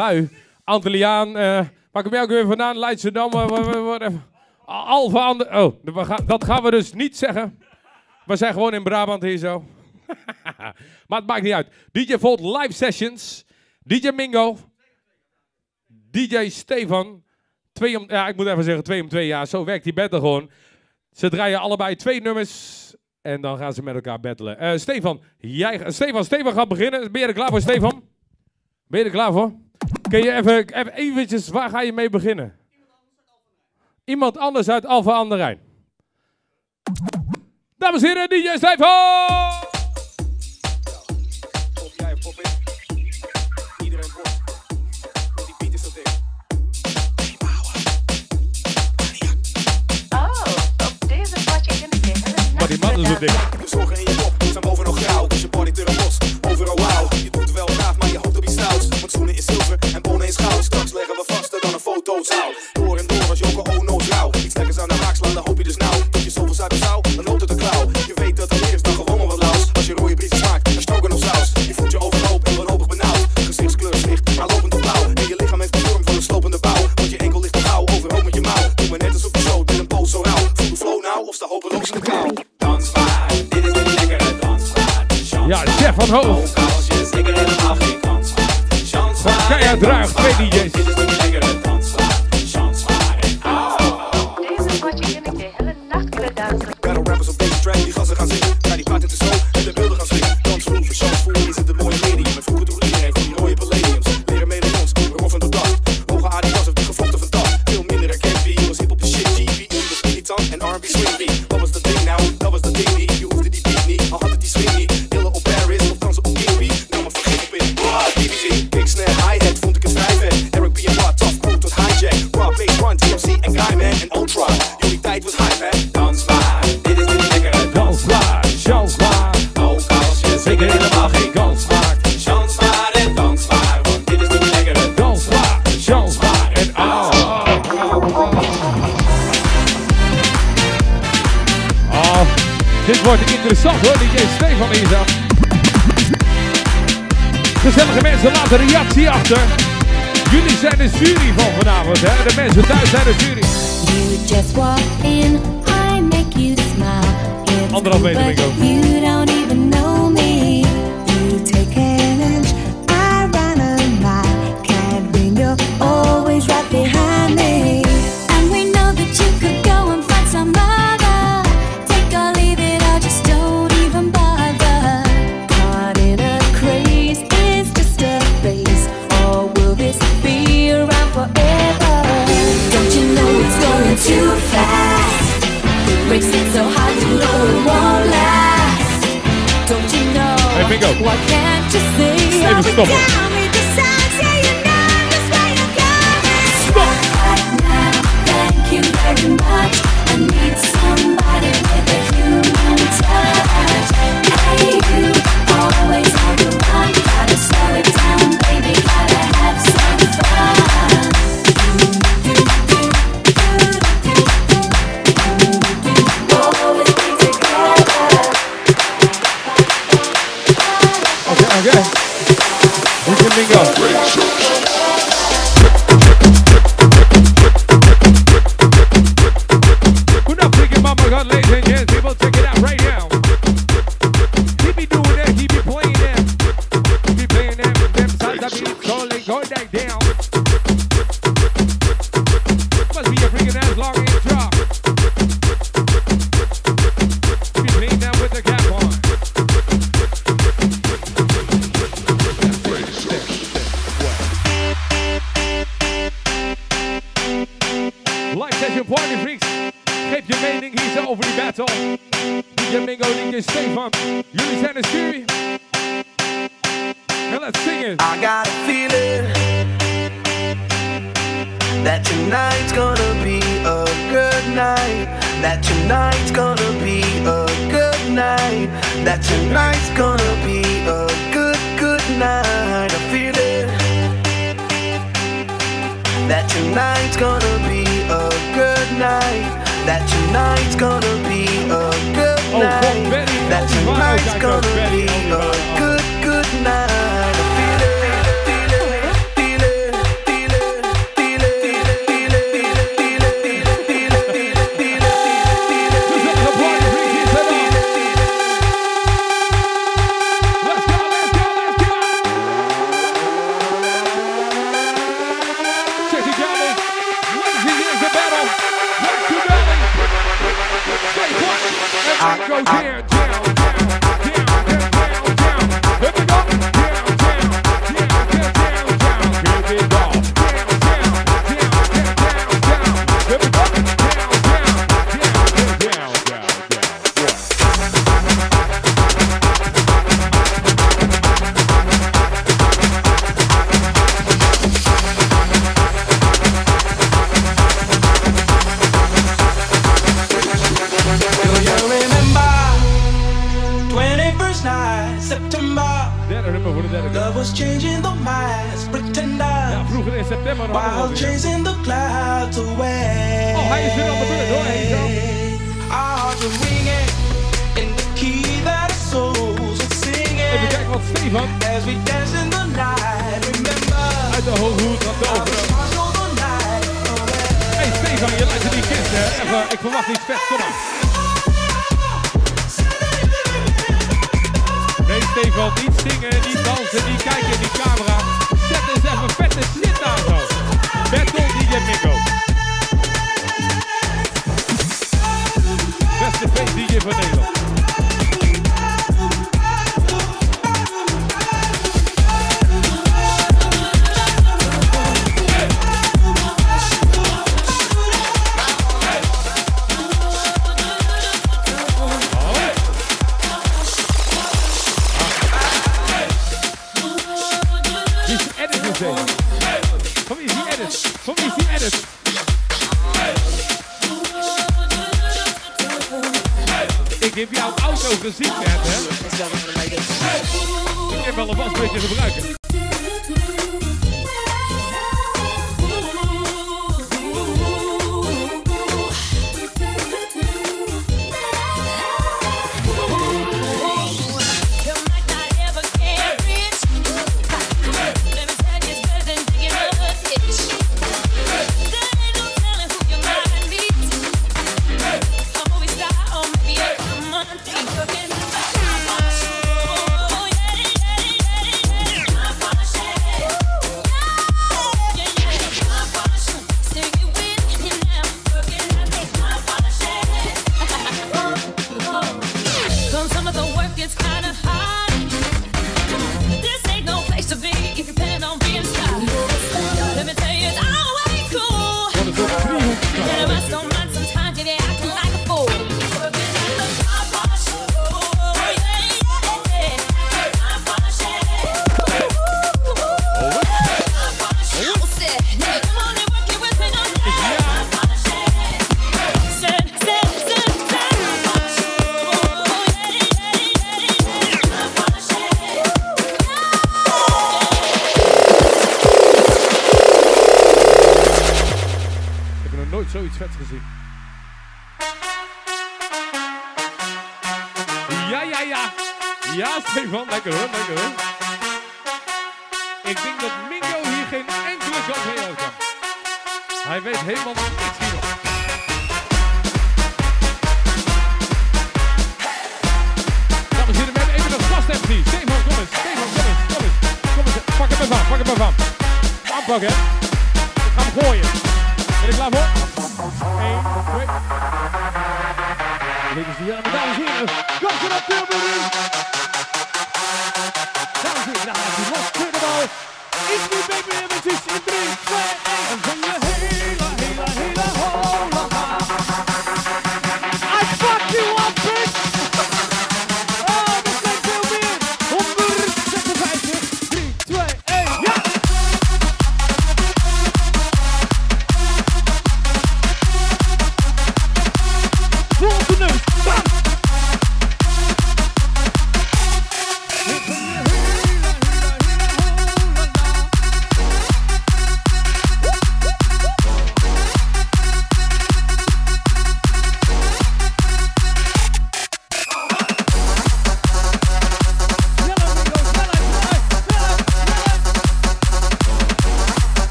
lui. Antilliaan, waar kom jij ook weer vandaan? Leidschendam, Alphen aan de... Oh, dat gaan we dus niet zeggen. We zijn gewoon in Brabant hier zo. Maar het maakt niet uit. DJ Volt live sessions. DJ Mingo. DJ Stefan. Ik moet even zeggen 2 om 2. Ja, zo werkt die battle gewoon. Ze draaien allebei 2 nummers. En dan gaan ze met elkaar battelen. Stefan gaat beginnen. Ben je er klaar voor, Stefan? Ben je er klaar voor? Kun je even eventjes, waar ga je mee beginnen? Iemand anders uit Alphen aan de Rijn. Dames en heren, DJ Stefan! Pop jij, pop ik. Iedereen wordt. Want die beat is zo dik. Op deze potje kan ik dit. Maar die man is zo dik. De zorgen in je kop zijn boven nog grauw. Dus je body te los, overal wauw. Je doet het wel graag, maar je hoopt op iets stouts. Want schoenen is zilver en bonen is goud. Straks leggen we vaster dan een fotozaal. Door en door als Joko Ono trouw. Iets lekkers aan de haak slaan, dan hoop je dus nou. Dat je zoveel suiker zou, dan loopt het een klauw. Je weet dat er is dan gewoon maar wat laus. Als je rode briesen smaakt, dan stroken of saus. Je voelt je overhoop en wanhopig benauwd. Gezichtskleur zwicht, maar lopend op blauw. En je lichaam heeft de vorm van een slopende bouw. Want je enkel ligt te gauw, overhoop met je mouw. Doe maar net alsof je zo met een poos zo rauw. Voel de flow nou of sta hopeloos in de kou. Dansbaar, dit is een lekkere dansbaar. Ja, Chef van Hoofd. Als je zeker helemaal geen kans maakt. Chance maar. Keihard draag, 2 DJ's. Dit is een lekkere dansbaar. Chance maar. Deze potje kan ik de hele nacht kunnen dansen. Battle rappers op deze track, die gassen gaan zingen. Ga die paard in de show en de beelden gaan swingen. Dansvloer voor chance, voor is het een mooie medium. En vroeger droeg iedereen van die rode palladiums. Leren medaillons, roffen door dag. Hoge Adidas of de gevlochten van dag. Veel minder herkend wie was hip op de shit. GP was irritant en R&B swing beat. Wat was dat ding nou? Dat was dat ding niet. Je hoefde die beat niet, al had het die swing niet. Hillen op Paris of dansen op King B. Nou maar vergeet op in. BBC, kick, snare, hi-hat, vond ik het vrij vet. Eric B en Watt, tough crew tot hijack. Raw, bass, run, TMC en Guyman en Ultra. Jullie tijd was hype, hè? Dansbaar, dit is een lekkere Dansbaar, chansbaar. Ook als je zeker helemaal geen kans maakt. Chance maar en dansbaar, want dit is een lekkere Dansbaar, chansbaar en dit wordt interessant hoor, DJ Stefan hier zo. Gezellige mensen, laat een reactie achter. Jullie zijn de jury van vanavond, hè? De mensen thuis zijn de jury. You just walk in, I make you smile. It's Anderhalf meter, but Mingo. you don't even know me. You take an inch, I run a mile. Can't bring you always right behind me. And we know that you could go and find some other. Take or leave it, or just don't even bother. Caught in a craze, is just a phase. Or will this be around forever? Don't you know it's going too fast? Racing so hard, you know it won't last. Don't you know? Hey, Bingo. Why can't you see? Even stoppen. With the signs, yeah, you know just where you're going. Stop. Right now, thank you very much. I need somebody with a human touch. Hey, you always on the run. Gotta slow it down, baby. Gotta have some fun. Always be together. Okay. DJ Mingo. We're not thinking mama got ladies and gents, people check it out right now. Keep me doing that, keep me playing that. Keep me playing that, them sides I be calling, go that down. Must be a freaking ass long intro. Keep me playing that with the cap on. Live session party freaks. Geef je mening hier zo over die battle. DJ Mingo, DJ Stefan. Jullie zijn de jury. And let's sing it. I got a feeling that tonight's gonna be a good night. That tonight's gonna be a good night. That tonight's gonna be a good night. I feel it. That tonight's gonna be a good night. That tonight's gonna be a good night. That tonight's gonna be a good night. I feel it, feel it, feel it. Go down, down, down, down, down, down, down. Here we go. Down, down, down, down, down, down. Here we go. Down, down, down, down, down. Here we go. Down, down, down, down, down, down. Love was changing the minds, pretenders. Ja, vroeger in september nog. While chasing the clouds away. Oh, hij is weer aan de beurt hoor. Hey, zo. Our hearts are ringing in the key that our souls are singing. Even kijken wat Stefan As we dance in the night, remember. uit de Hooghoed gaat over. Hey Stefan, je luistert die kist hè. Even, ik verwacht iets vet, kom maar. Nee Stefan, niet zingen, niet dansen, niet kijken in die camera. Zet eens even vette shit aan zo. Battle DJ Mingo. Beste face DJ van Nederland. Van wie is die edit? Van wie is die edit? Ik heb jouw auto gezien net, hè? Ik heb wel een wasbeetje gebruiken. Zoiets vets gezien. Ja. Ja, Stefan, lekker hoor, lekker hoor. Ik denk dat Mingo hier geen enkele kant mee uit kan. Hij weet helemaal niks hierop. Dames en heren, we hebben even een gast MC. Stefan, kom eens, kom eens. Pak hem even aan, Aanpakken, hè. Ik ga hem gooien. Ben je klaar voor? 1, 2. Ladies and gentlemen, dames en heren, kom op Tilburg! Dames en heren, daar gaat hij los, tweede bal. Iets meer baby images in 3, 2, 1. En van je hele hola. I fuck you up, bitch! Oh, dat zijn veel meer. 156, 3, 2, 1, ja!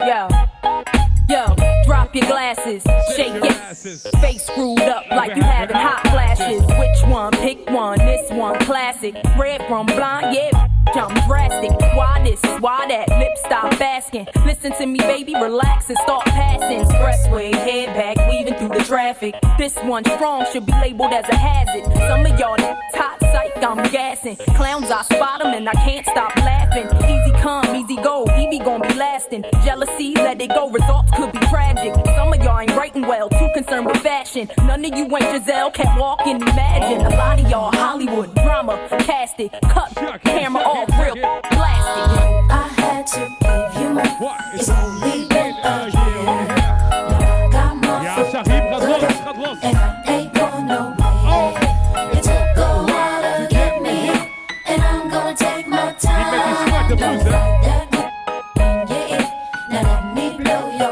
Yo, drop your glasses, shake your face screwed up like you having hot flashes. Which one? Pick one. This one classic. Red from blind, yeah. I'm drastic. Why this? Why that? Lip stop asking. Listen to me, baby, relax and start passing. Expressway, head back, weaving through the traffic. This one strong should be labeled as a hazard. Some of y'all hot psych, I'm gassing. Clowns, I spot them and I can't stop laughing. Easy come, easy go, Evie gon' be lasting. Jealousy, let it go, results could be tragic. Some of y'all ain't writing well, too concerned with fashion. None of you ain't Giselle, can't walk and imagine. A lot of y'all Hollywood drama, cast it, cut, camera off, real plastic. I had to give you more. It's only been a year. Now I got more and I ain't going nowhere. It took a while to get me, and I'm gonna take my time. Don't fight that when you're in. Now let me blow your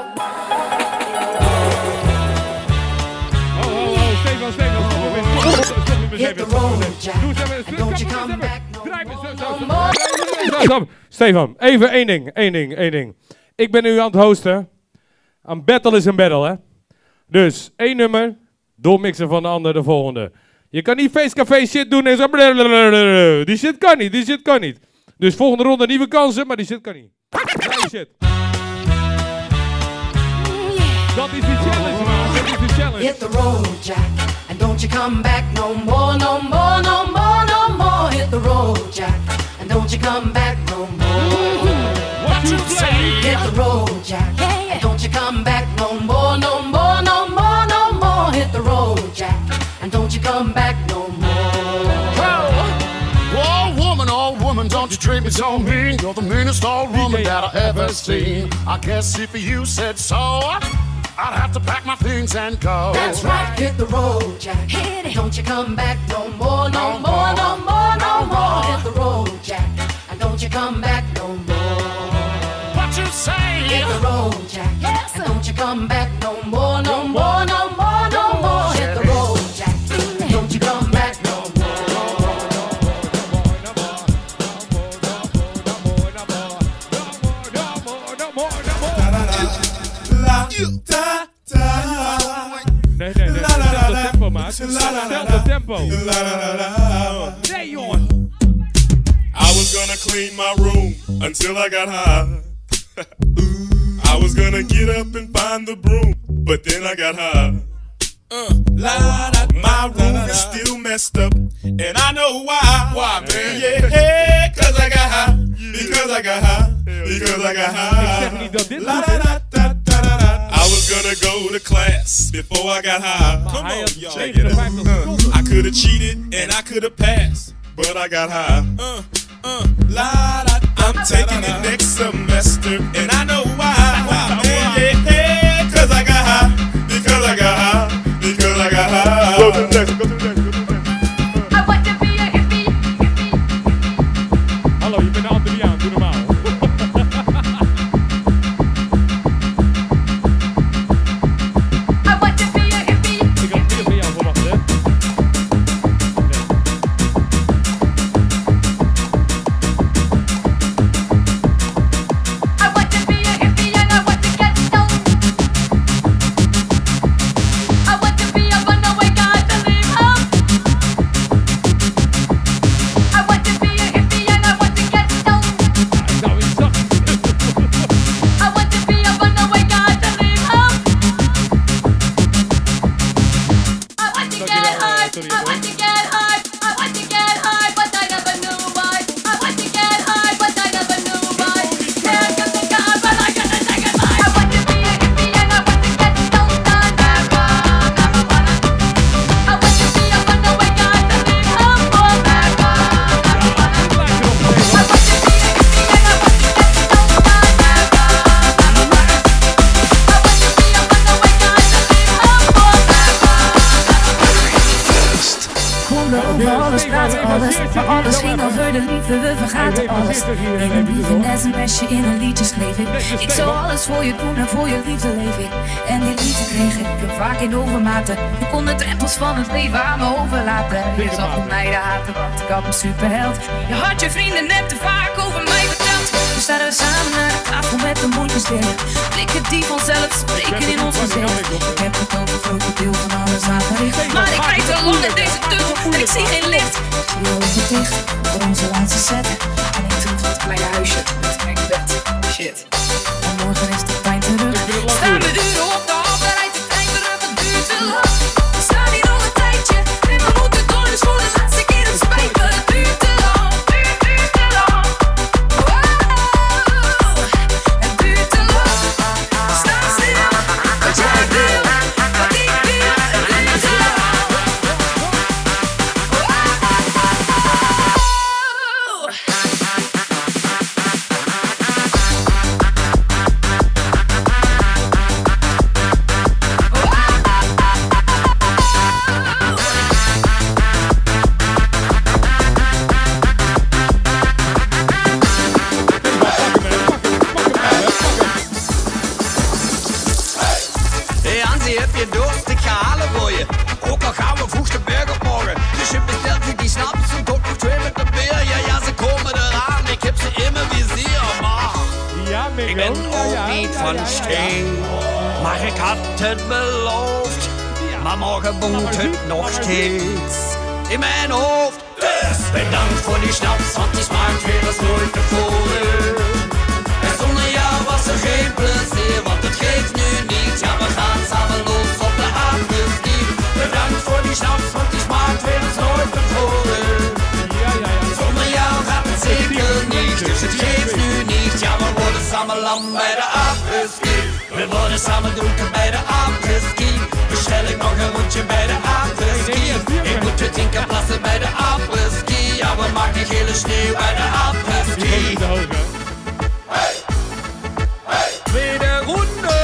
mind. Hit the road, Jack. Don't you come back no more. Stefan, even één ding. Ik ben nu aan het hosten. Een battle is een battle, hè. Dus, 1 nummer, doormixen van de ander de volgende. Je kan niet feestcafé shit doen en zo. Die shit kan niet. Dus volgende ronde nieuwe kansen, maar die shit kan niet. Die shit. Dat is die challenge, man. Dat is die challenge. Hit the road, Jack, and don't you come back no more, no more, no more, no more. Hit the road, Jack, and don't you come back no more. What you say? Hit the road, Jack, and don't you come back no more, no more, no more, no more. Hit the road, Jack, and don't you come back no more. Oh woman, don't you treat me so mean. You're the meanest old woman that I ever seen. I guess if you said so, I'd have to pack my things and go. That's right, hit the road, Jack. Hit it. Don't you come back no more, no more, no more, no more. Hit the road, Jack, and don't you come back no more. What you say? Hit the road, Jack, and don't you come back no more, no more, no more, no more. Hit the road, Jack, and don't you come back no more. Nee, hetzelfde tempo, maat. Hetzelfde tempo. Nee, jongen. I was gonna clean my room until I got high. I was gonna get up and find the broom, but then I got high. My room is still messed up, and I know why. Why, man? Yeah, cause I got high. Because I got high. Because I got high. I was gonna go to class before I got high. Come on, check it out. I could've cheated and I could've passed, but I got high. I'm taking it next semester, and I know why. Yeah, cause I got high. Because I got high. Because I got high. Go to the next. I want to be a hippie. Hallo, je bent de Antilliaan, doe normaal. I want to be a hippie. Ik had meer van jou verwacht, hè? I want to be a hippie. we vergaten alles. In een brief, een sms'je, in een liedje schreef ik. Ik zou alles voor je doen en voor je liefde leef ik. En die liefde kreeg ik vaak in overmaten. Je kon de drempels van het leven aan me overlaten. Je zag op mij de haten, want ik had een superheld. Je had je vrienden net te vaak over mij verteld. Nu staan we samen naar de tafel met de mondjes dicht. Blikken die vanzelf spreken in ons gezicht. Ik heb het over een groot deel van alles aangericht. Maar ik rijd te lang in deze tunnel en ik zie geen licht. Ik zie je ogen dicht voor onze laatste set. En ik terug naar het kleine huisje met mijn bed. Shit. En morgen is de pijn terug. Staan we uren op de hal, dan rijdt de trein terug. Het duurt te lang. We staan hier al een tijdje. En we moeten door, dus voor de laatste keer het spijt me. Het duurt te lang. Duurt te lang. Wow. Het duurt te lang. Sta stil. Wat jij wil. Wat ik wil. Het duurt te lang. Hey Hansi, heb je dorst? Ik ga halen voor je. Ook al gaan we vroeg de berg op morgen. Dus je bestelt je die snaps en tot nog 2 met de beer. Ja, ze komen eraan. Ik heb ze in mijn vizier, maar ik ben ook niet van steen. Maar ik had het beloofd. Maar morgen woont het nog steeds in mijn hoofd. Dus bedankt voor die snaps, want die smaakt weer als nooit tevoren. En zonder jou was er geen plezier, want het geeft nu niet. Ja, we gaan samen los op de apres-ski. Bedankt voor die snaps, want die smaakt weer als nooit tevoren. Zonder jou gaat het zeker niet, dus het geeft nu niet. Ja, we worden samen lam bij de apres-ski. We worden samen dronken bij de apres-ski. Bestel ik nog een rondje bij de apres-ski. Ik moet het 10 keer plassen bij de apres-ski. Ja, we maken gele sneeuw bij de apres-ski. Tweede ronde.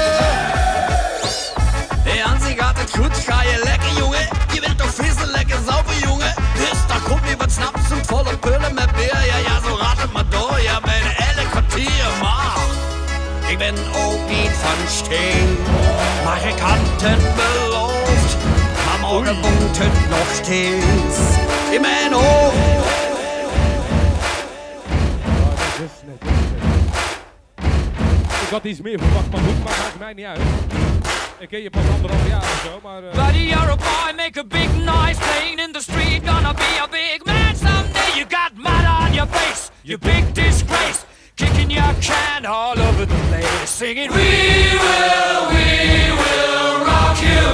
Hey Hansi, gaat het goed? Ga je lekker, jongen? Je bent toch vissen lekker sauber, jongen? Dus daar komt weer wat snaps en volle pullen met beer. Ja, zo gaat het maar door. Ja, bijna elk kwartier, maar ik ben ook niet van steen. Maar ik had het beloofd. Maar morgen woont het nog steeds in mijn hoofd. Ik had iets meer verwacht, maar goed, maar maakt mij niet uit. Ik ken je pas 1,5 jaar of zo, maar... Buddy, you're a boy, make a big noise, playing in the street, gonna be a big man someday. You got mud on your face, you big disgrace, kicking your can all over the place, singing, we will rock you.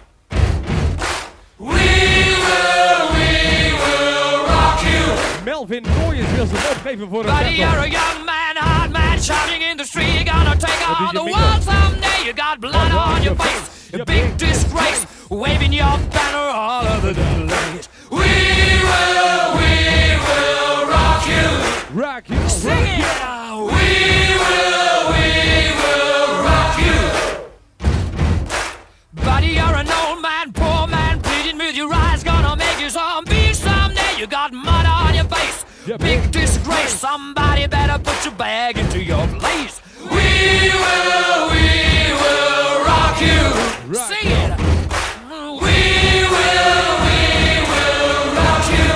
We will rock you. Melvin Gooyens wil ze opgeven voor een Buddy, you're a young man, hard man, shouting in the street, you're gonna take on the world someday. You got blood on your face, a big disgrace, waving your banner all over the place. We will rock you. Rock you. Sing it. We will rock you. Buddy, you're an old man, poor man, pleading with your eyes, gonna make you zombie someday. You got mud on your face, big disgrace. Somebody better put your bag into your place. We will rock you. Sing it. We will rock you.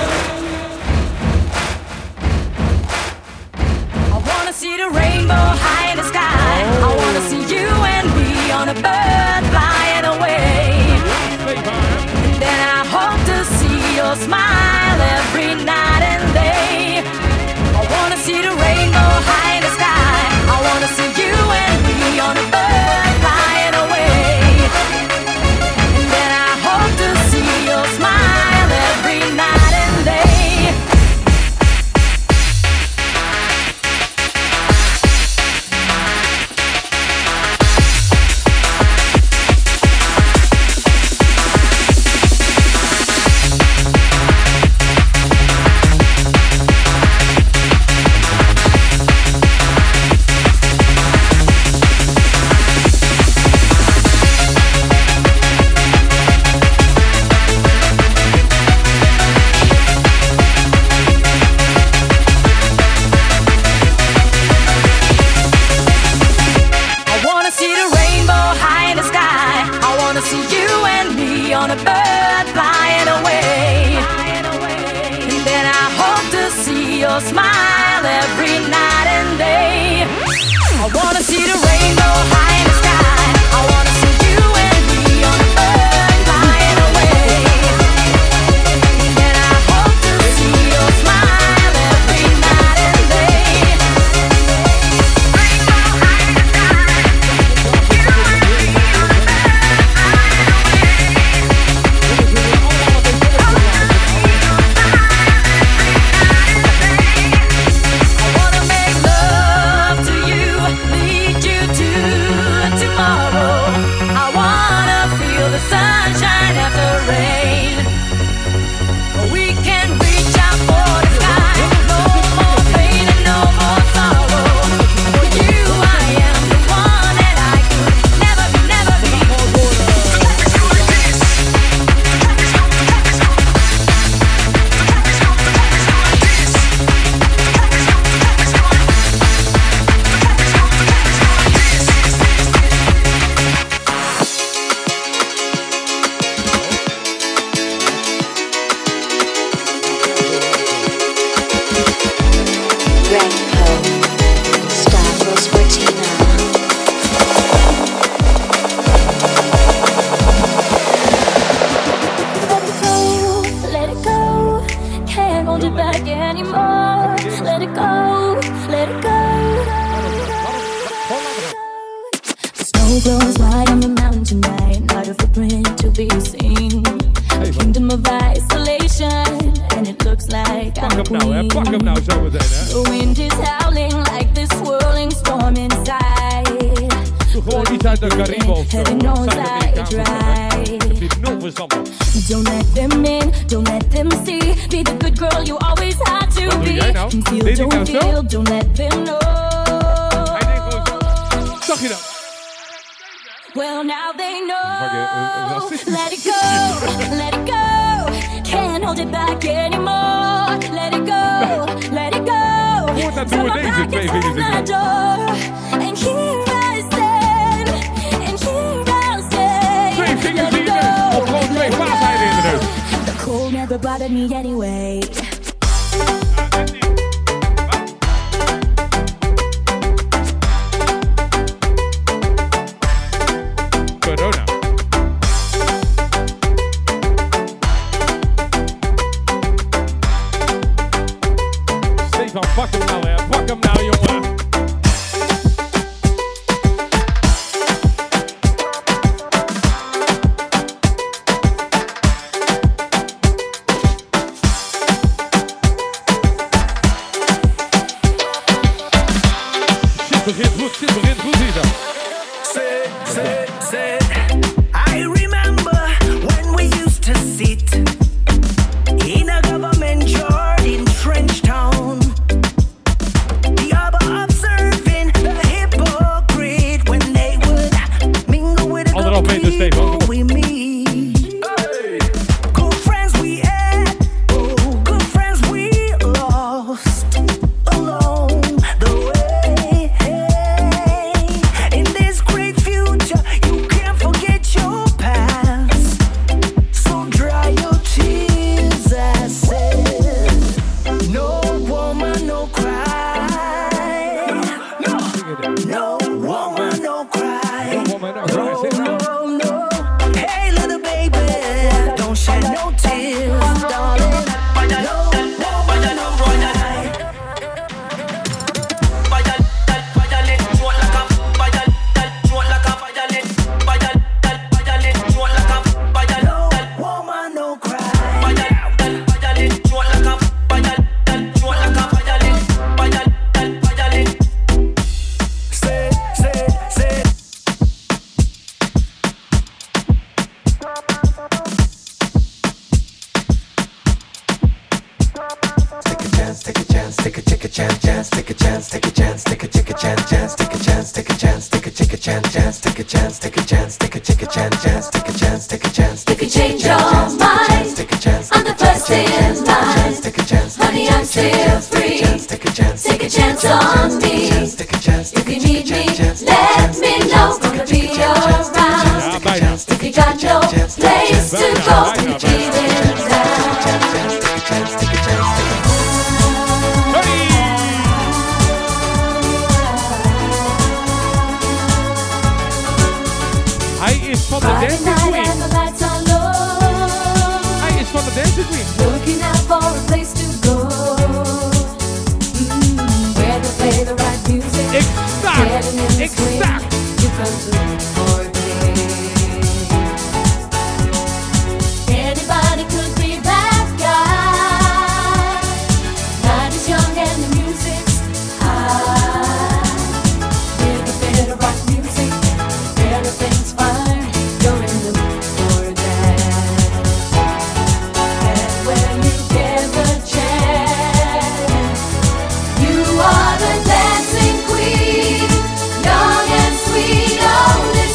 I wanna see the rainbow high in the sky. I wanna see you and me on a bird flying away. And then I hope to see your smile every night and day. I wanna see the rainbow high in the sky. see the rainbow high in the sky. I wanna see you and me on the earth flying away. And I hope to see your smile every night and day. Rainbow high in the sky. You and me on the earth flying away. I wanna make love to you, lead you to tomorrow. I wanna feel the sunshine after rain. We can reach out for the sky. No more pain and no more sorrow. For you, I am the one that I could never be, never be. Let it go, can't hold it back anymore. Let it go, let it go. The snow blows wide on the mountain tonight, not a footprint to be seen. A kingdom of isolation, and it looks like I'm a queen. Pak hem nou zo meteen, hè. The wind is howling like this swirling storm inside. Doe gewoon iets uit de Cariben of zo. Heaven knows I tried. Heb je nul verstand van. Don't let them in, don't let them see. Be the good girl you always had to Wat doe be. jij nou? Conceal, Deed ik nou don't zo? feel, don't let them know. Hij deed gewoon zo. Zag je dat? Well, now they know. Racistisch. Let it go, let it go. Can't hold it back anymore. Let it go, let it go. Hoort dat Throw door my deze back twee inside vingers my in. door. And here I stand, and here I'll stay. Twee vingers Let in it je neus. go, Of gewoon twee paaseieren in de neus. The cold never bothered me anyway. Corona. Stefan, pak hem nou, hè. Pak hem nou, jongen. Shit begint goed hier zo. I remember when we used to sit in a government yard in Trenchtown. The other observing the hypocrite when they would mingle with the good people we meet. Good friends we had, oh, good friends we lost along the way. In this great future, you can't forget your past. So dry your tears, I said. No woman, no cry. No woman, no cry. No, no. Hey, little baby, don't shed no tears, darling. No woman, no cry. No woman, no cry. Take a chance, take a chance, chance, take a chance, take a chance, take a chance, chance, take a chance, take a chance, take a chance, chance, take a chance, take a chance, take a chance, chance, take a chance, take a chance. If you change your mind, I'm the first in line. Honey, I'm still free. Take a chance on me. If you need me, let me know. Gonna be around. If you got no place to go, when you're feeling down. is van de Dancing Queen. Hij is van de Dancing Queen. Looking out for a place to go. Where they play the right music. Exact. You come to for a day. Anybody could be that guy. Night is young and the music's high. Where they play the right music. Everything's fine. You're in the mood for that. And when you get the chance, you are the dancing queen, young and sweet, only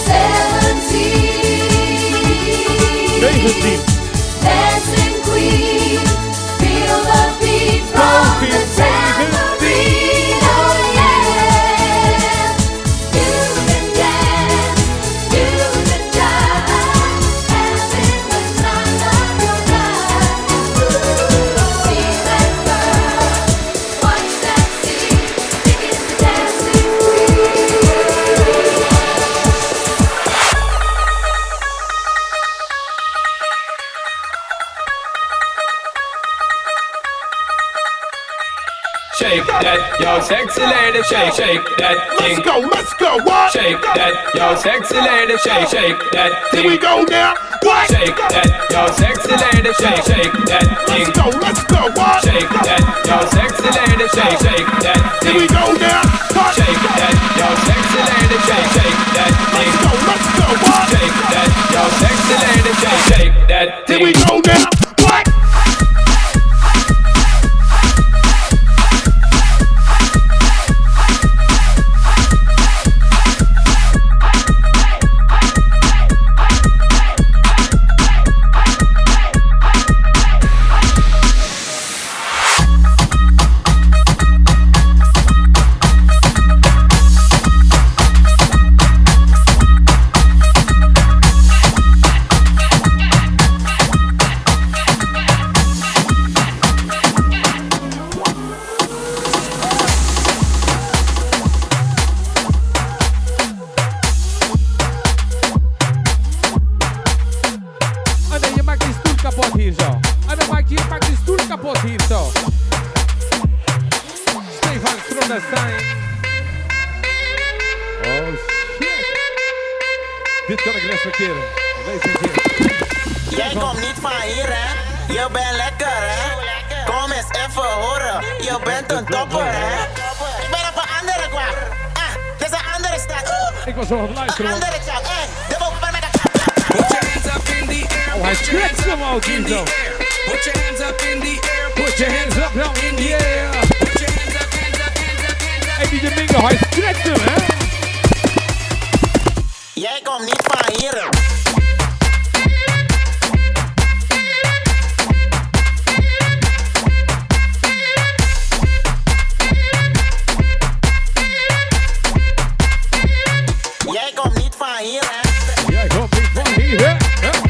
17. Dancing queen, feel the beat from the tambourine, oh yeah. You can dance, you can jive, having the time of your life. See that girl, watch that scene, it's the dancing queen. Shake that, yo, sexy lady, shake, shake that thing. Let's go, what? Shake that, yo, sexy lady, shake, shake that thing. Here we go now, what? Shake that, yo, sexy lady, shake, shake that thing. Let's go, what? Shake that, yo, sexy lady, shake, shake that thing. Here we go now, what? Shake that, yo, sexy lady, shake, shake that thing. Let's go, what? Shake that, yo, sexy lady, shake, shake that thing. Here we go now, what? Dit kan ik respecteren. Weet je hier. Jij komt niet van hier, hè? Je bent lekker, hè? Kom eens even horen. Je bent een topper, hè? Ik ben op een andere kwak. Dit is een andere stad. Ik was wel aan het luisteren. Een andere stad. De boven met de Put your hands up in the air. Oh, hij stretcht hem ook hier zo. Put your hands up in the air. Put your hands up now in the air. Put your hands up, hands up, hands up, hands up. Hey, DJ Mingo, hij stretcht hem, hè? Jij komt niet van hier. Jij komt niet van hier, hè? Jij komt niet van hier, hè?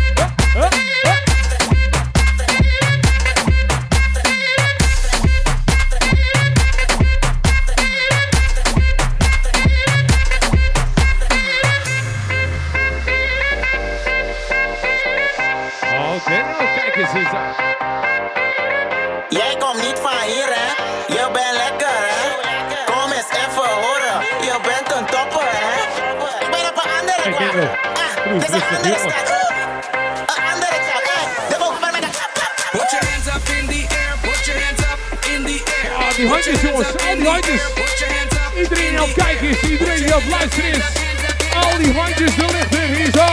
Jij komt niet van hier, hè? Je bent lekker, hè? Kom eens even horen. Je bent een topper, hè? Ik ben op een andere kwak. Dit is een andere stad. Een andere stad, de boven met de... Put your hands up in the air. Put your hands up in the air. Ah, die handjes, jongens. Al die handjes. Iedereen die op het kijken is. Iedereen die op het luisteren is. Al die handjes de lucht in. Hier zo.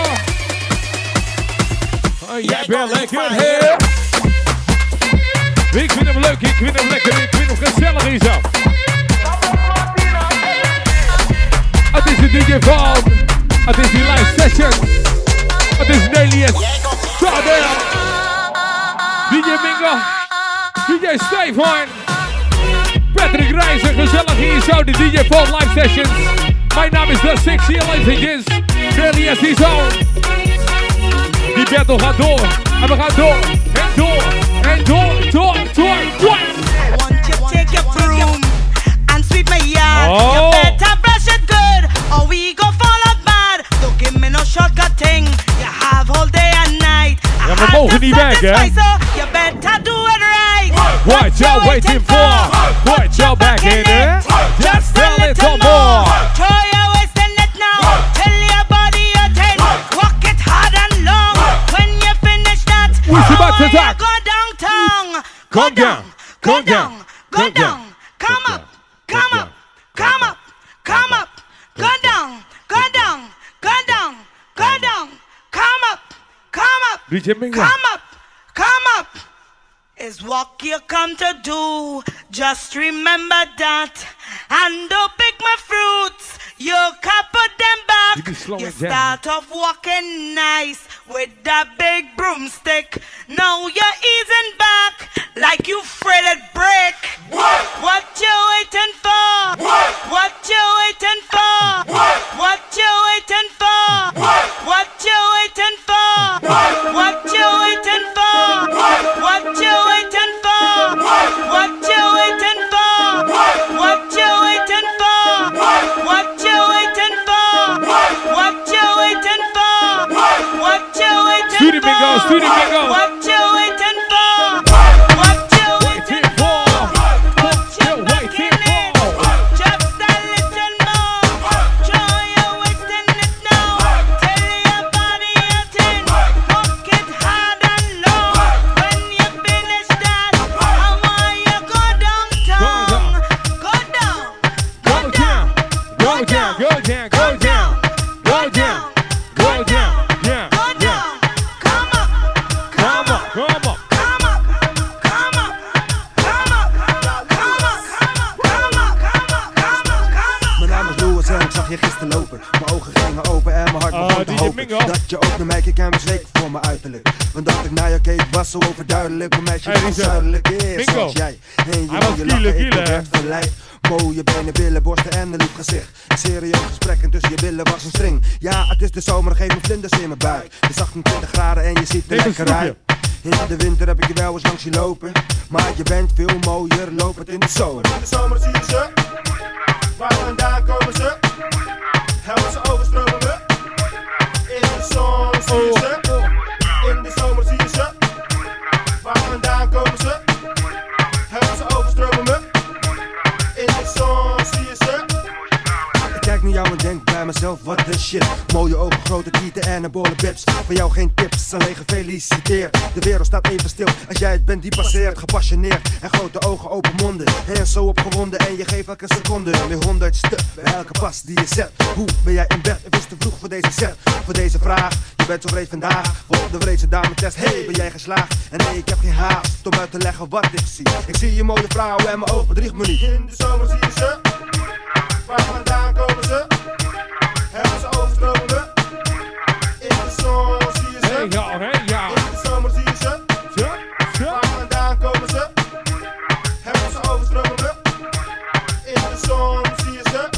Oh, jij bent lekker, hè? Ik vind hem leuk, ik vind hem lekker, ik vind hem gezellig hier zo. Het is de DJ van, het is die live session. Het is Nelius, Tadel, DJ Mingo, DJ Stefan, Patrick Reizen, gezellig hier zo, de DJ van live sessions. Mijn naam is The Six, hier eventjes, Nelius hier zo. Die battle gaat door, en we gaan door, en door. And door. Won't you take your broom and sweep my yard? You better brush it good, or we go fall out bad. Don't give me no shortcut thing. mogen niet werken, hè? You better do it right. What you waiting for? Put your back in it. Just a little more. Throw your waist in it now. Tell your body you're 10. Walk it hard and long. When you finish that, Who's about to you attack? go downtown. Come down. Go down. Go down. Come up. Come up. Come up. Come up. Go down. Go down. Go down. Go down. Come up. Come up. DJ Mingo. Come up. Come up. Is what you come to do. Just remember that. And don't pick my fruits. You can't put them back. You start off walking nice with that big broomstick. Now you're easing back like you fretted brick. What you waiting for? What you waiting for? What you waiting for? What you waiting for? What you waiting for? What you waiting for? What you waiting for? What you waiting for? What you waiting for? What you waiting for? What you waiting for? Studio Bingo, Studio Bingo. What you waiting for? What you waiting for? What you waiting for? Just a little more. Show you wasting it now. Tell your body you're 10. Walk it hard and low. When you finish that, I want you go downtown. Go down. Go down. Go down. Go down. Go down. Go down. Go down. Yeah. Go down. Come up. Come up. Come up. Mijn naam is Louis en ik zag je gisteren lopen. Mijn ogen gingen open en mijn hart begon te hopen dat je ook naar mij keek en was zeker voor mijn uiterlijk. Want dat ik naar jou keek was zo overduidelijk. Een meisje van zuidelijk is zoals jij. En je mooie lachen, ik werd verleid. Mooie benen, billen, borsten en een lief gezicht. Een serieus gesprek en tussen je billen was een string. Ja, het is de zomer, geef me vlinders in mijn buik. Het is 28 graden en je ziet er lekker uit. In de winter heb ik je wel eens langs zien lopen. Maar je bent veel mooier, loop het in de zomer. In de zomer zie je ze. Waar vandaan komen ze? Helpen ze overstromen we. In de zon zie je ze. In de zomer zie je ze. Waar vandaan komen ze? Helpen ze overstromen we. In de zon zie je ze. Ik kijk naar jou en denk bij mezelf, wat de shit. Mooie ogen, grote tieten en een bolle bips. Voor jou geen tips, alleen gefeliciteerd. De wereld staat even stil als jij het bent die passeert. Gepassioneerd en grote ogen, open monden. En zo opgewonden en je geeft elke seconde weer 100 stuk bij elke pas die je zet. Hoe ben jij in bed? Het is te vroeg voor deze set. Voor deze vraag, je bent zo vreed vandaag. Voor de vreedse dame test, hey, ben jij geslaagd? En nee, ik heb geen haast om uit te leggen wat ik zie. Ik zie je mooie vrouw en mijn oog bedriegt me niet. In de zomer zie je ze. Waar vandaan komen ze? Helpen ze overstromen we. In de zon zie je ze. Hey, ja, hey, ja. In de zomer zie je ze. Waar vandaan komen ze? Helpen ze overstromen we. In de zon zie je ze.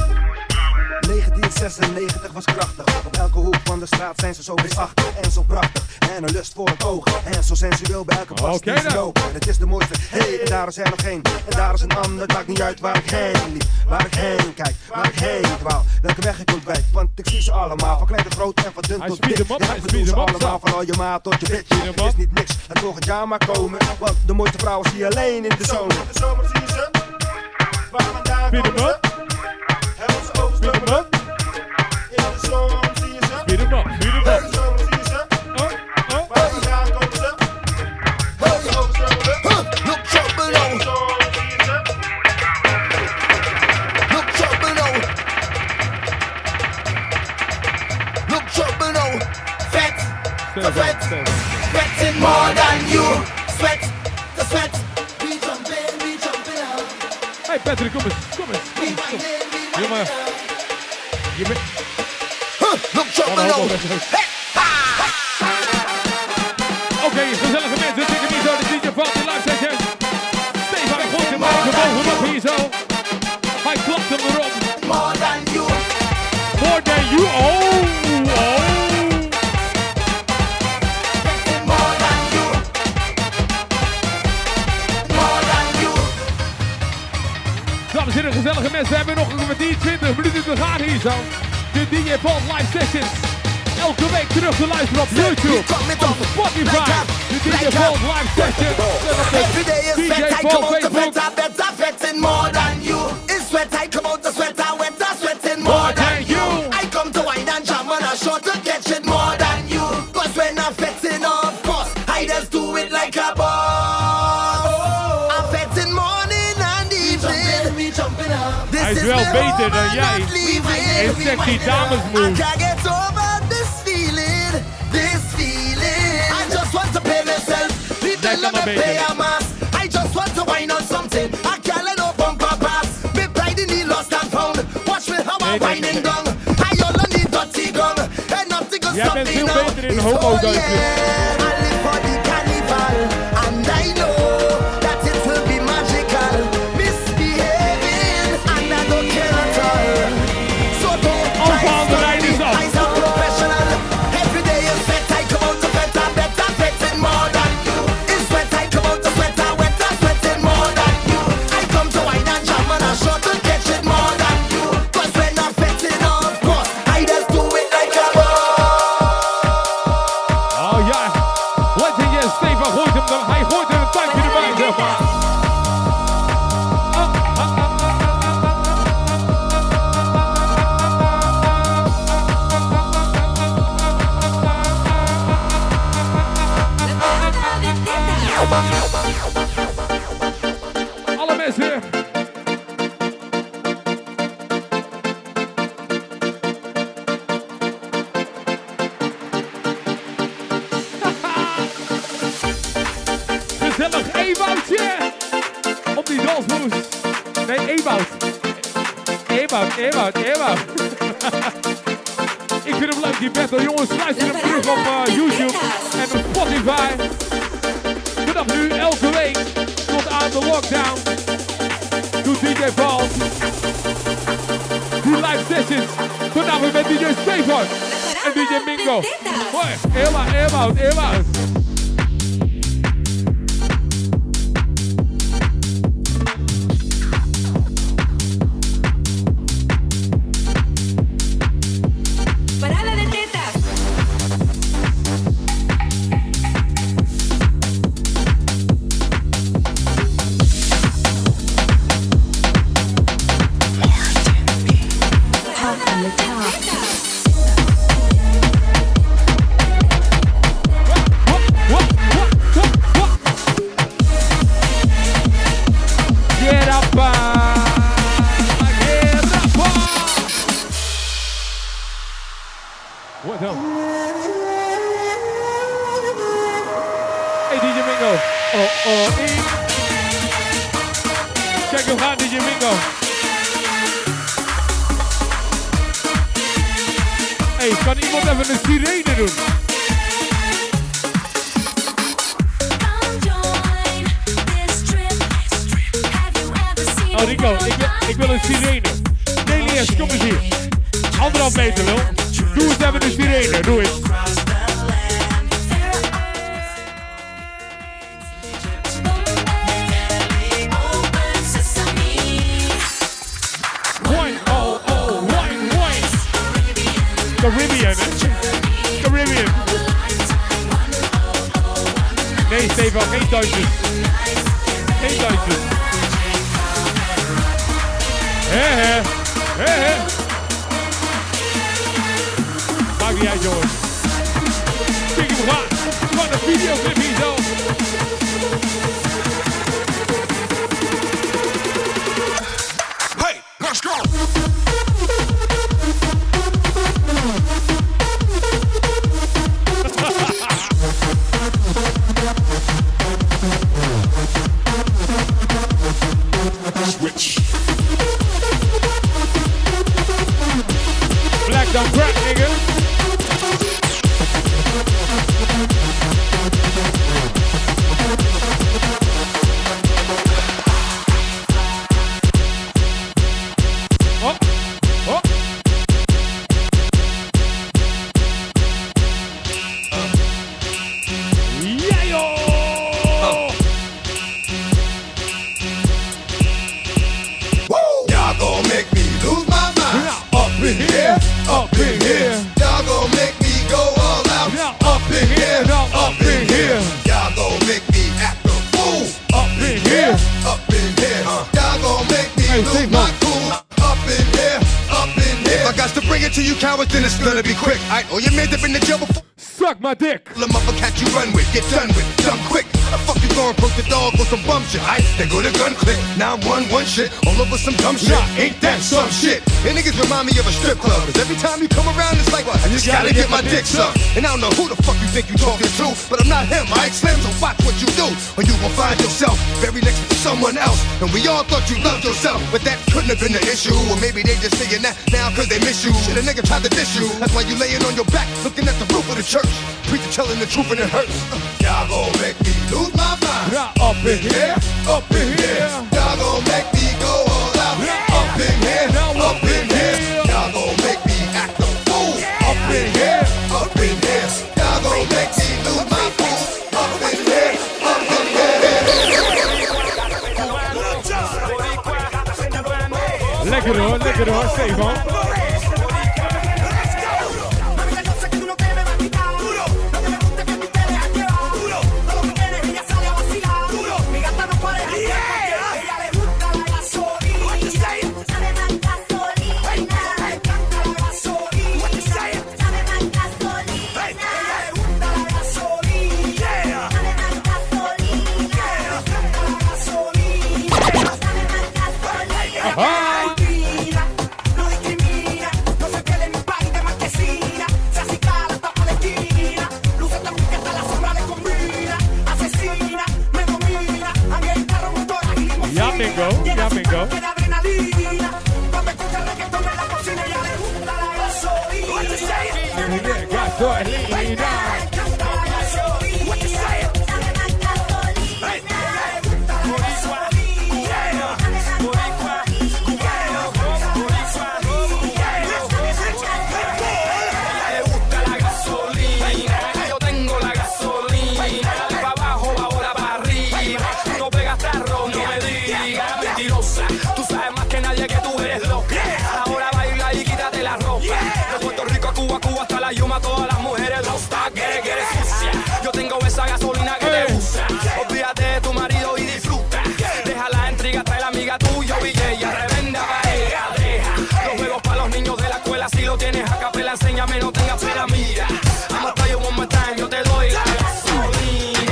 1996 was krachtig. Op elke hoek van de straat zijn ze zo reusachtig en zo prachtig. En een lust voor het oog. En zo sensueel bij elke pas die ze lopen. Het is de mooiste. Hey, en daar is er nog één. En daar is een ander. Het maakt niet uit waar ik heen liep. Waar ik heen kijk. Waar ik heen dwaal. Welke weg ik ontwijk. Want ik zie ze allemaal. Van klein tot groot en van dun tot dik. Ik bedoel ze allemaal. Van al je maat tot je bitch. Het is niet niks. Laat volgend jaar maar komen. Want de mooiste vrouwen zie je alleen in de zomer. In de zomer zie je ze. Waar vandaan komen ze? Helpen ze overstromen we. In de zon zie je ze. In de zomer zie je ze. Waar vandaan komen ze? Helpen ze overstromen we. Look trouble now. In de zon zie je ze. Look trouble now. Look trouble now. Vet, the vet. Sweating more than you. Sweat, the sweat. We jumping out. Hey Patrick, kom eens, kom eens. Jongen. Je bent... Look trouble now. Oké, gezellige mensen, dikke niet zo, de DJ Party live session. Stefan gooit hem bovenop hier zo. Hij klapt hem erop. More than you. More than you, oh, oh. More than you. More than you. Dames en heren, gezellige mensen, we hebben nog een kwartier 20 minuten te gaan hier zo. De DJ Paul live sessions. elke week terug te luisteren op YouTube, op Spotify, de DJ Vault live session, Every day is DJ sweat, I Vault come out to Facebook. better, sweating more than you. It's sweat, I come out to wetter, sweating more than you. I come to wine and jam on a short to catch it more than you. Cause when I'm fetting, of course, I just do it like a boss. I'm fetting morning and evening. We jumping up. Hij is wel beter dan jij in sexy dames I moves. can't get over this feeling. I just want to pay myself. People let me pay a mass. I just want to wine on something. I can't let no bumper pass. Me pride in the lost and found. Watch me how I'm winding down. I only need dirty gun. And nothing can stop me now. in homo-dansjes. I live for the carnival. And I know that it will be magical. Misbehaving and I don't care at all. So don't try to stop me. I'm a professional. Every day is sweat. I come out to better, sweating more than you. It's sweat. I come out to wetter, sweating more than you. I come to wine and jam and I short to catch it more than you. Cause when I'm fetting, of course, I just do it like a Oh ja, Legend yes, Stefan gooit hem dan. Hij gooit er een tandje erbij, zeg maar. Alle mensen. Gezellig Ewoutje op die dansmoes. Nee, Ewout. Ewout. Ik vind hem leuk, die battle. Jongens, luister hem terug op YouTube en op Spotify. Vanaf nu elke week tot aan de lockdown. Doet DJ Vault. Die live sessions. Vanavond met DJ Stefan en DJ Mingo. Hoi, Ewout. Parada de tetas. Get up, What dan? Hey DJ Mingo. Kijk hem gaan DJ Mingo. Hey, kan iemand even een sirene doen? Oh Rico, ik wil een sirene. Nelias, kom eens hier. 1,5 meter wel. Doe eens even een sirene, doe eens. Wine. Caribbean, hè? Caribbean. Nee, Stefan, geen Duitsers. Geen Duitsers. He. Maakt niet uit, jongens. Kijk hem gaan. Van de videoclip hier zo. Hey, let's go! Switch. Black don't crack, nigga. Oh. Yeah, yo. Y'all gon' make me lose my mind. Up in here. Y'all gon' make me go gonna be quick. I know your man's up in the jail before. Suck my dick. The motherfucker you run with, get done with, done quick. How the fuck you gonna approach the dog with some bum shit? They go to gun click, 911 shit, all over some dumb shit. Ain't that some shit? And niggas remind me of a strip club. Cause every time you come around, it's like, I just gotta get my dick sucked. And I don't know who the fuck you think you talking to, but I'm not him, Mike Slim, so watch what you do. Or you gon' find yourself very next to someone else. And we all thought you loved yourself, but that couldn't have been the issue. Or maybe they just saying that now cause they miss you. Shit, a nigga tried to diss you. That's why you laying on your back, looking at the roof of the church. Preacher telling the truth and it hurts. Y'all gon' make me lose my mind. Up in here, up in here. Y'all gon' make me go all out. Up in here, up in here. Y'all gon' make me act a fool. Up in here, up in here. Y'all gon' make me lose my fool. Up in here, up in here. Lekker hoor, Stefan. Ja, bingo. Yuma, todas las mujeres rosta, quiere sucia. Yo tengo esa gasolina que te gusta. Olvídate de tu marido y disfruta. Deja la intriga, trae la amiga tuya y ella revenda pareja. Deja los juegos para los niños de la escuela. Si lo tienes a capela, enséñame, no tengas pena. Mira, I'ma tell you one more time, yo te doy la gasolina.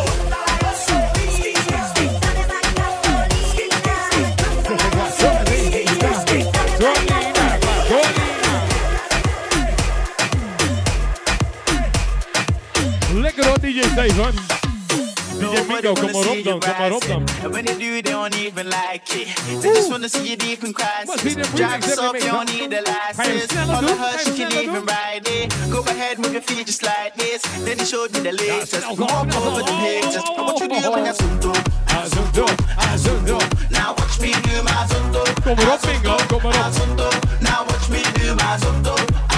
Lekker hoor, DJ Stefan. DJ Mingo, kom maar op dan. And when they do, they don't even like it. They just wanna see you deep in crisis. Drive us up, you don't need the license. All the hush, you can even ride it. Go ahead, move your feet just like this. Then they showed me the latest. Walk over the pictures. What you do when you're Azundo. Now watch me do my Azundo. Kom maar op, Mingo, kom maar op. Now watch me do my Azundo.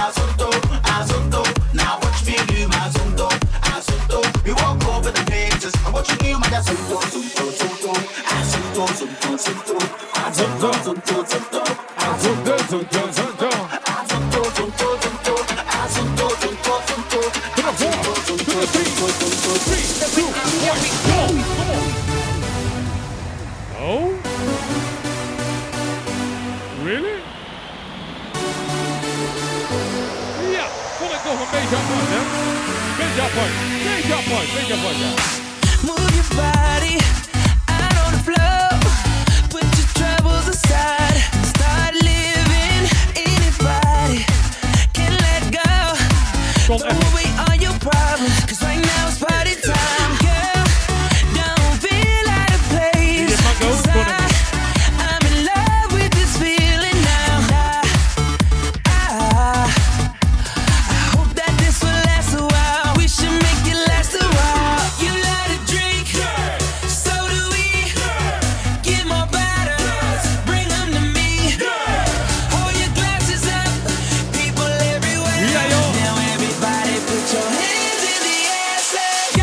Now watch me do my Azundo. We walk over the pages. And what you do, my Azundo. Oh? Really? Ja, vond ik toch een beetje apart, hè? Beetje apart, ja. Move your body out on the floor. Put your troubles aside. Start living. Anybody can let go. Throw away all your problems. Cause right now it's party time, girl. Don't feel out of place. Cause I'm in love with this feeling now. I hope that this will last a while. We should make it last a while. You like to drink, so do we. Get more bottles, bring them to me. Hold your glasses up, people everywhere. Now everybody put your hands in the air, say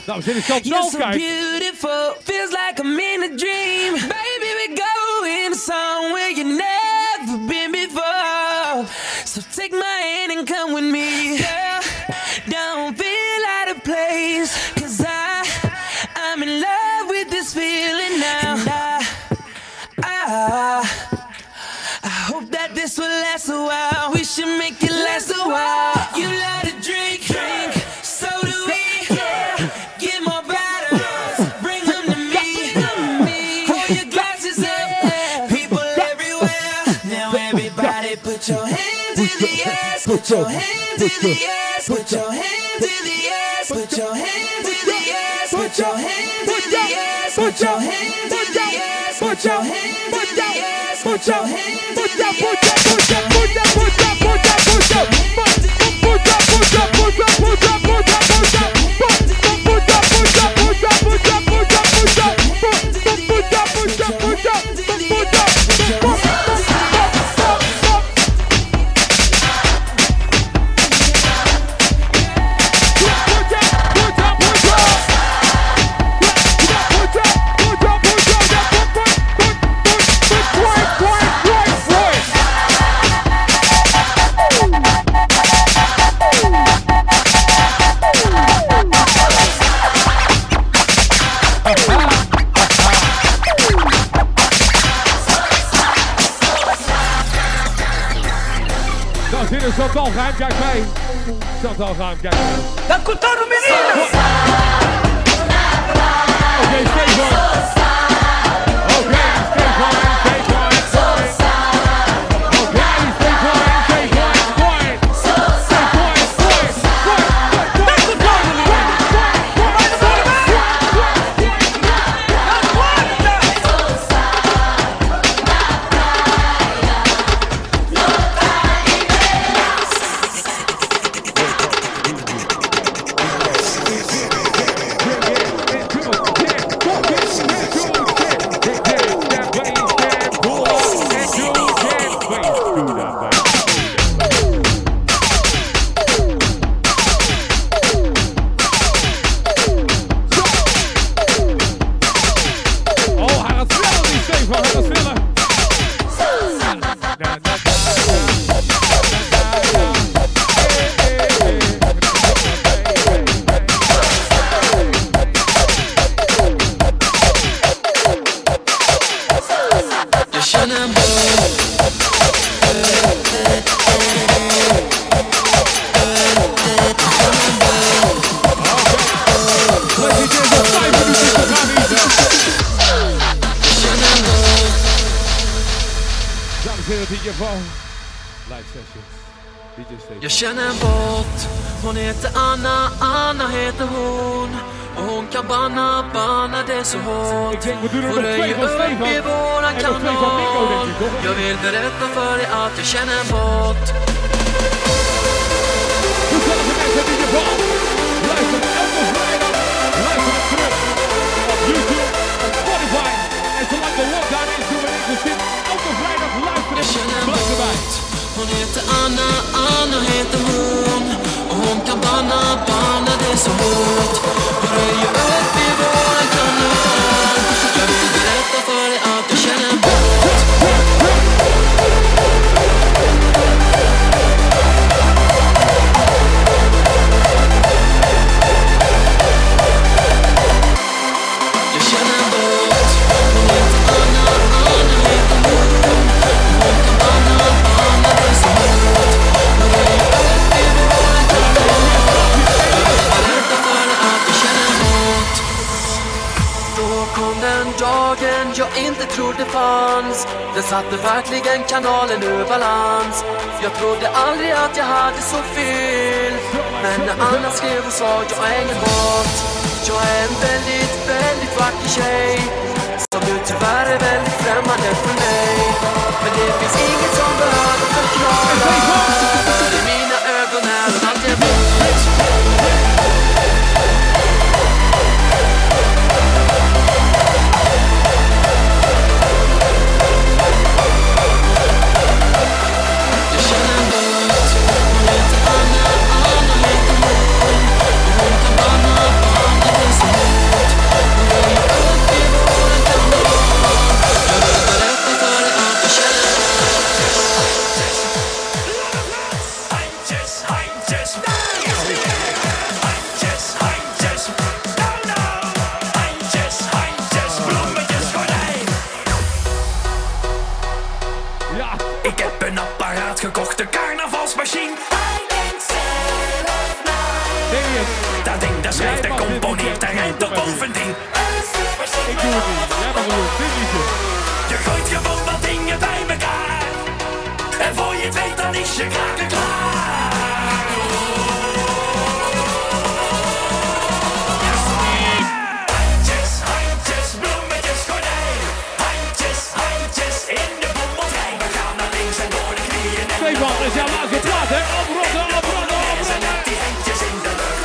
Nou, we zitten in You're Zandvoort, so kijk. beautiful, feels like I'm in a dream. Baby, we go in somewhere you never been before. So take my hand and come with me. Girl, don't feel out of place. 'Cause I'm in love with this feeling now. I hope that this will last a while. We should make it last a while. You like to drink, so do we. Get more bottles, bring them to me. Hold your glasses up, people everywhere. Now everybody put your hands in the air. Put your hands in the air. Put your hands in the air. Put your hands in the air. Put your hands in the air. Put your hands in the air. Put your hands in the air. Put your hands in the Chantal, geheim, kijk mee. Chantal, geheim, kijk mee. Dat komt dan nog meer in. Oké, Stefan. Oké, Stefan. Jag känner en båt, hon heter Anna, Anna heter hon. Och hon kan banna det så hårt. Och röjer upp i våran kanal. Jag vill berätta för dig att jag känner en båt. Jag känner en båt. Hon heter Anna, Anna heter hon. Och hon kan banna det så hårt. Och röjer upp i våran kanal. Jag vill berätta för dig att jag känner en båt. Jag känner en båt. Hon heter Anna, Anna heter hon. Och hon kan banna det så hårt. Och röjer upp i våran kanal. Jag vill berätta för dig att jag känner en båt. Då kom den dagen jag inte trodde fanns. Den satte verkligen kanalen ur balans. Jag trodde aldrig att jag hade så fel. Men när Anna skrev och sa jag är ingen båt. Jag är en väldigt, väldigt vacker tjej. Som nu tyvärr är väldigt främmande för mig. Men det finns inget som behöver förklara. För i mina ögon är hon alltid en båt. dansmachine. Hij denkt zelf na. Dat ding, dat schrijft en componeert en rijmt er bovendien. Ik doe het niet. Jij mag het doen. Dit liedje. Je gooit gewoon wat dingen bij elkaar. En voor je het weet dan is je kraken klaar. Handjes, handjes, bloemetjes, gordijn. Handjes, handjes in de bommeltrein. We gaan naar links en door de knieën. Stefan, is jouw laatste plaat, hè? Oprotten, oprotten, oprotten. Met die handjes in de lucht.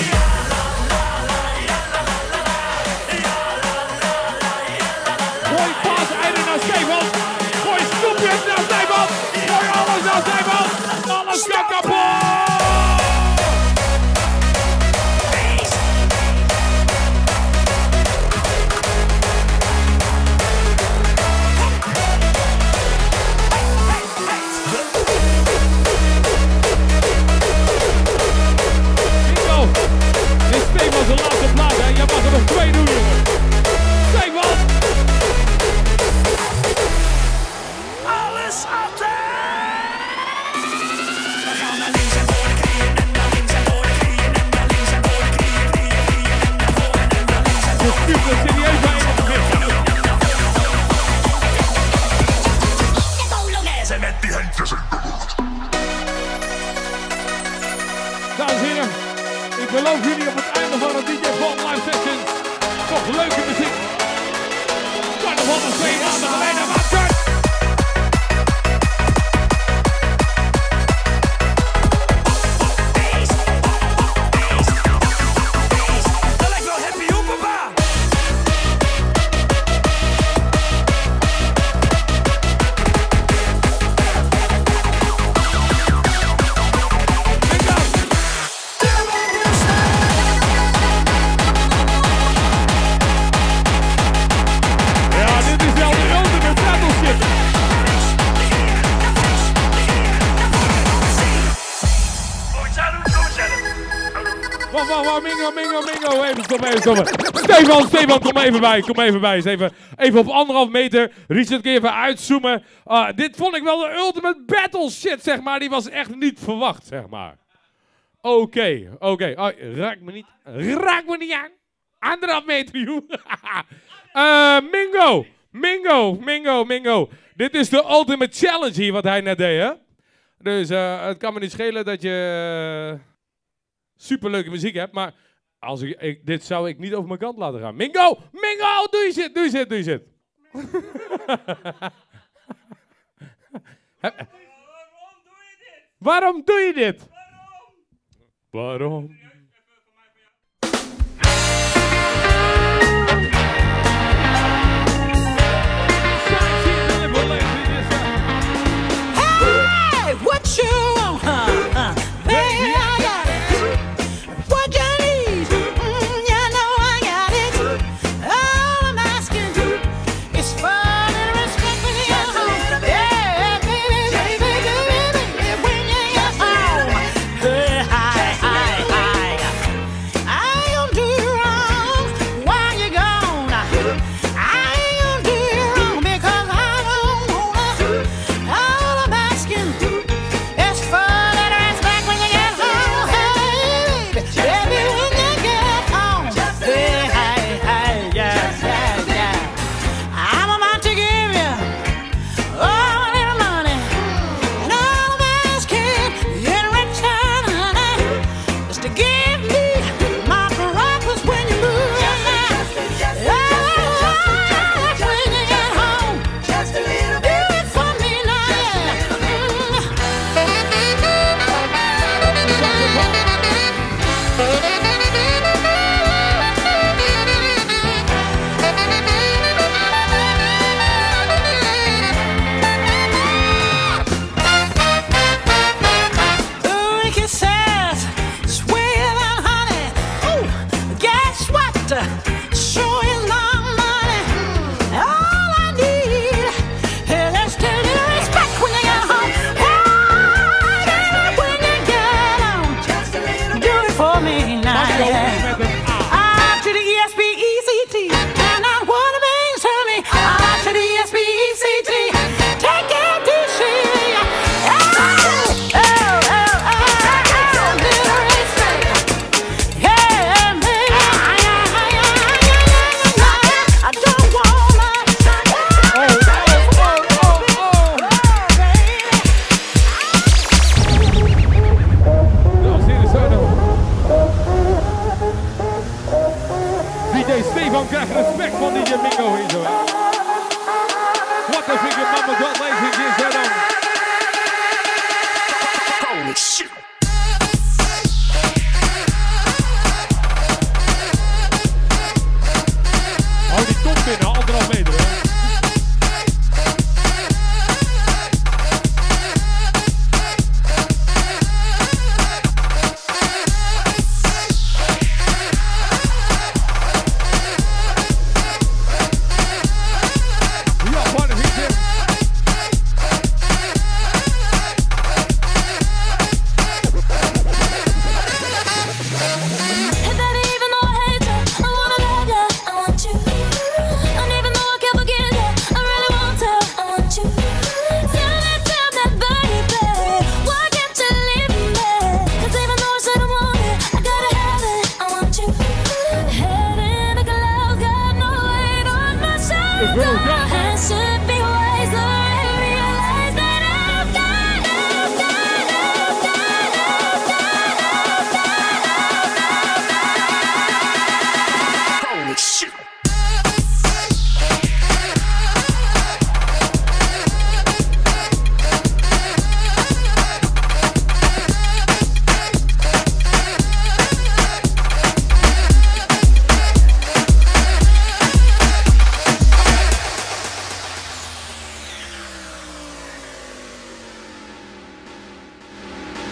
Gooi paas einde naar Stefan. Gooi snoepjes naar Stefan. Gooi alles naar Stefan. Alles gaat kapot. Bingo. Dit is Stefan zijn laatste plaat, hè? Jij mag er nog 2 doen, jongen. Stefan. Alles altijd! We gaan naar links en voor de knieën en naar links en voor de knieën en naar links en voor de knieën, knieën, knieën en naar voren en naar links en voor de knieën. Je stuurt er serieus bij in het begin. Polonaise met die handjes in de lucht. Dames en heren, ik beloof jullie op het einde van het DJ Paul Live Session toch leuke muziek. Carnaval is 2 maanden geleden, maar kut! Dat lijkt wel happy op, papa! Ja, dit is wel de ultimate battleship. Wacht, Mingo, even stoppen. Stefan, kom even bij. Even op 1,5 meter. Richard, kun je even uitzoomen. Dit vond ik wel de ultimate battle shit, zeg maar. Die was echt niet verwacht, zeg maar. Oké. Raak me niet aan. 1,5 meter, joh. Mingo. Dit is de ultimate challenge hier, wat hij net deed, hè. Dus het kan me niet schelen dat je superleuke muziek hebt, maar als dit zou ik niet over mijn kant laten gaan. Mingo, doe je zit. Waarom doe je dit? Waarom? Hey, what you want? Baby, I got it. What you need? You know I got it. All I'm asking is for a little respect when you're home. Yeah, baby, when you're home. Hey, hi.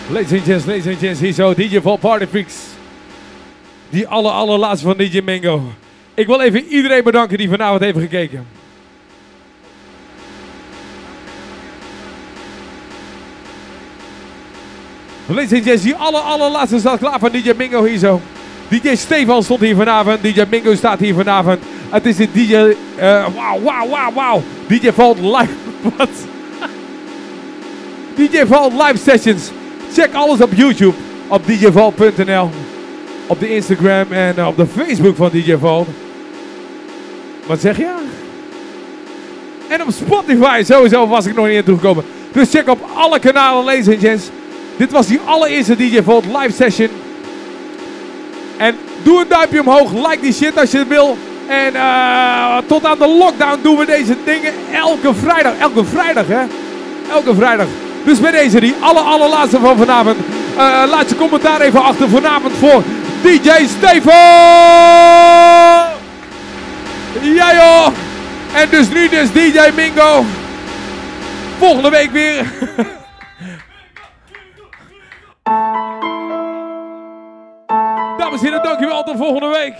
Ladies and gents, hier zo, DJ Vol Party Freaks. Die allerlaatste van DJ Mingo. Ik wil even iedereen bedanken die vanavond heeft gekeken. Ladies and gents, die allerlaatste staat klaar van DJ Mingo hier zo. DJ Stefan stond hier vanavond, DJ Mingo staat hier vanavond. Het is de DJ, wauw. DJ Vault Live, wat? DJ Vault Live Sessions. Check alles op YouTube, op djvault.nl. Op de Instagram en op de Facebook van DJ Vault. Wat zeg je? En op Spotify, sowieso was ik nog niet in toegekomen. Dus check op alle kanalen, ladies and gents. Dit was die allereerste DJ Vault Live Session. En doe een duimpje omhoog, like die shit als je het wil. En tot aan de lockdown doen we deze dingen elke vrijdag. Elke vrijdag, hè? Elke vrijdag. Dus bij deze, die allerlaatste van vanavond. Laat je commentaar even achter vanavond voor DJ Stefan! Ja joh! En dus nu DJ Mingo. Volgende week weer. Dames en heren, dankjewel. Tot volgende week.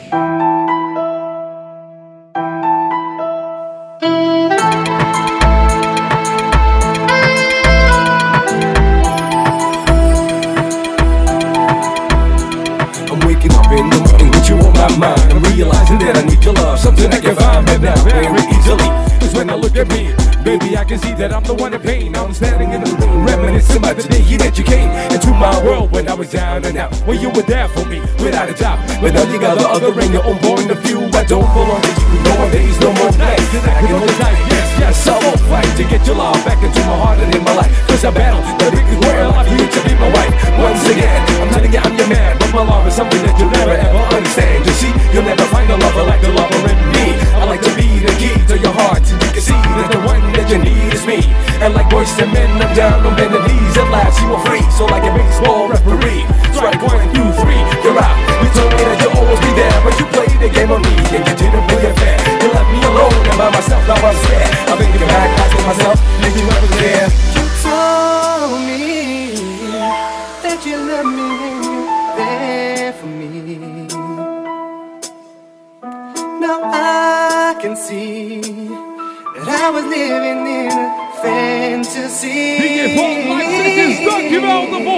In the morning with you on my mind, I'm realizing that I need your love, something I can find but now very easily. Cause when I look at me, baby, I can see that I'm the one in pain. I'm standing in the room, reminiscing about the day that you came into my world when I was down and out. Well, you were there for me, without a doubt. But now you got the other ring, you're on board the view. I don't belong to you, no more days, no more nights. And I can hold tight, yes, I won't fight to get your love back into my heart and in my life. Cause I battle the biggest world, I'm here to be my wife. Once again, I'm telling you I'm your man, but my love is something that you'll never ever understand. You see, you'll never find a lover like the lover in me. I like to be the key to your heart, so you can see that the one that you need is me. And like boys and men, I'm down on bending knees. At last you are free, so like a baseball referee. Strike 1, 2, 3, you're out. You told me that you'll always be there, but you played the game on me and you didn't play it fair. You left me alone and by myself, now I'm scared. I'm thinking back, asking myself, did you ever care? You told me that you loved me and you're there for me. Now I can see that I was living in a fantasy. DJ Vault Live Sessions, dankjewel.